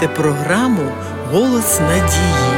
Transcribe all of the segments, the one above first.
слухаєте програму «Голос надії».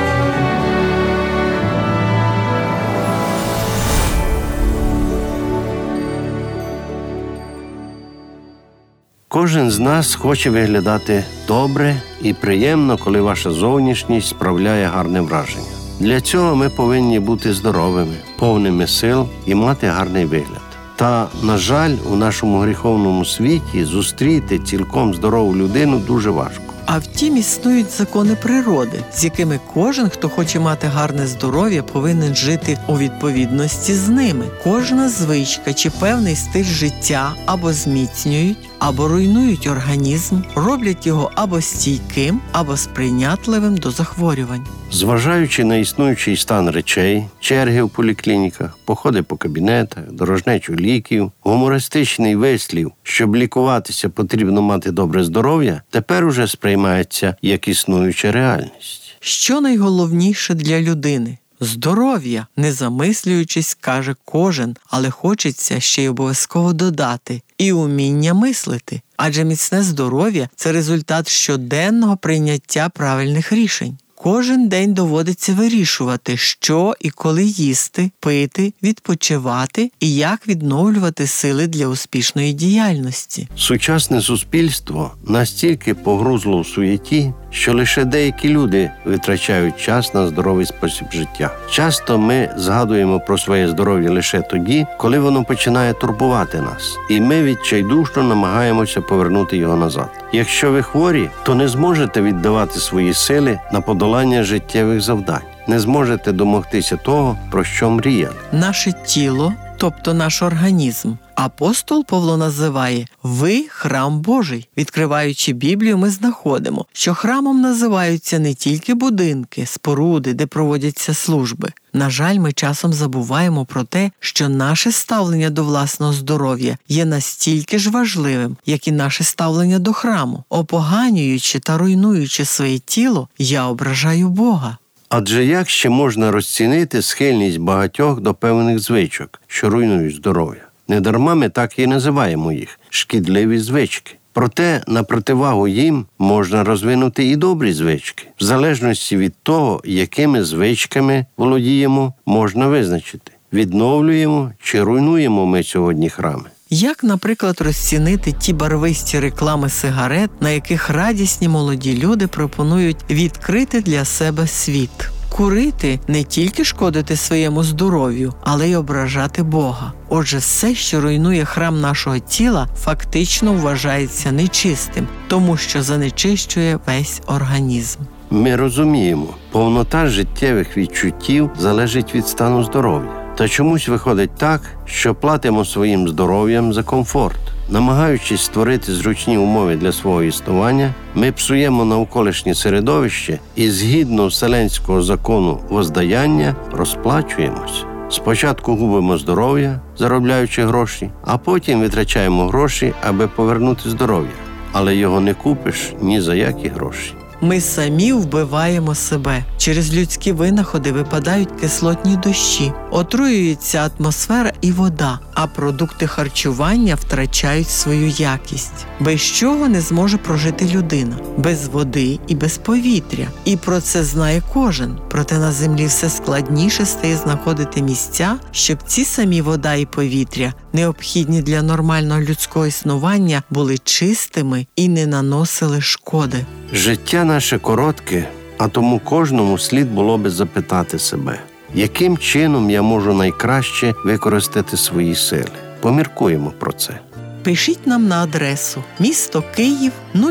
Кожен з нас хоче виглядати добре і приємно, коли ваша зовнішність справляє гарне враження. Для цього ми повинні бути здоровими, повними сил і мати гарний вигляд. Та, на жаль, у нашому гріховному світі зустріти цілком здорову людину дуже важко. А втім, існують закони природи, з якими кожен, хто хоче мати гарне здоров'я, повинен жити у відповідності з ними. Кожна звичка чи певний стиль життя або зміцнюють, або руйнують організм, роблять його або стійким, або сприйнятливим до захворювань. Зважаючи на існуючий стан речей, черги в поліклініках, походи по кабінетах, дорожнечу ліків, гумористичний вислів, щоб лікуватися потрібно мати добре здоров'я, тепер уже сприймається як існуюча реальність. Що найголовніше для людини? Здоров'я, не замислюючись, каже кожен, але хочеться ще й обов'язково додати – і уміння мислити. Адже міцне здоров'я – це результат щоденного прийняття правильних рішень. Кожен день доводиться вирішувати, що і коли їсти, пити, відпочивати і як відновлювати сили для успішної діяльності. Сучасне суспільство настільки погрузло в суєті, що лише деякі люди витрачають час на здоровий спосіб життя. Часто ми згадуємо про своє здоров'я лише тоді, коли воно починає турбувати нас, і ми відчайдушно намагаємося повернути його назад. Якщо ви хворі, то не зможете віддавати свої сили на подолання життєвих завдань. Не зможете домогтися того, про що мріяли. Наше тіло, тобто наш організм, апостол Павло називає «Ви – храм Божий». Відкриваючи Біблію, ми знаходимо, що храмом називаються не тільки будинки, споруди, де проводяться служби. На жаль, ми часом забуваємо про те, що наше ставлення до власного здоров'я є настільки ж важливим, як і наше ставлення до храму. Опоганюючи та руйнуючи своє тіло, я ображаю Бога. Адже як ще можна розцінити схильність багатьох до певних звичок, що руйнують здоров'я? Недарма ми так і називаємо їх – шкідливі звички. Проте на противагу їм можна розвинути і добрі звички. В залежності від того, якими звичками володіємо, можна визначити, відновлюємо чи руйнуємо ми сьогодні храми. Як, наприклад, розцінити ті барвисті реклами сигарет, на яких радісні молоді люди пропонують відкрити для себе світ? Курити – не тільки шкодити своєму здоров'ю, але й ображати Бога. Отже, все, що руйнує храм нашого тіла, фактично вважається нечистим, тому що занечищує весь організм. Ми розуміємо, повнота життєвих відчуттів залежить від стану здоров'я. Та чомусь виходить так, що платимо своїм здоров'ям за комфорт. Намагаючись створити зручні умови для свого існування, ми псуємо навколишнє середовище і згідно вселенського закону воздаяння розплачуємось. Спочатку губимо здоров'я, заробляючи гроші, а потім витрачаємо гроші, аби повернути здоров'я. Але його не купиш ні за які гроші. Ми самі вбиваємо себе. Через людські винаходи випадають кислотні дощі, отруюється атмосфера і вода, а продукти харчування втрачають свою якість. Без чого не зможе прожити людина? Без води і без повітря. І про це знає кожен. Проте на землі все складніше стає знаходити місця, щоб ці самі вода і повітря, необхідні для нормального людського існування, були чистими і не наносили шкоди. Життя наше коротке, а тому кожному слід було би запитати себе, яким чином я можу найкраще використати свої сили. Поміркуємо про це. Пишіть нам на адресу місто Київ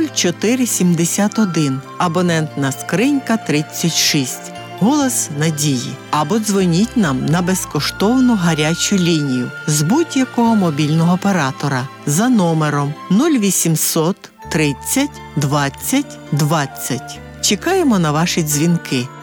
0471, абонентна скринька 36, «Голос надії». Або дзвоніть нам на безкоштовну гарячу лінію з будь-якого мобільного оператора за номером 0800 30 20 20. Чекаємо на ваші дзвінки.